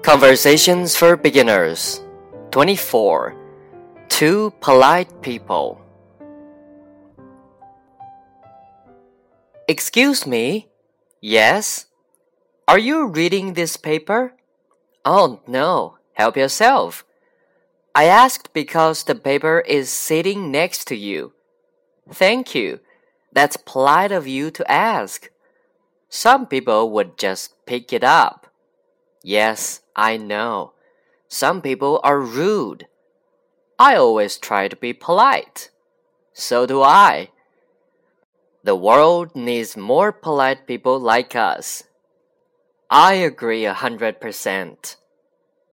Conversations for Beginners 24. Two Polite People. Excuse me? Yes? Are you reading this paper? Oh, no. Help yourself. I asked because the paper is sitting next to you. Thank you. That's polite of you to ask. Some people would just pick it up. Yes, I know. Some people are rude. I always try to be polite. So do I. The world needs more polite people like us. I agree 100%.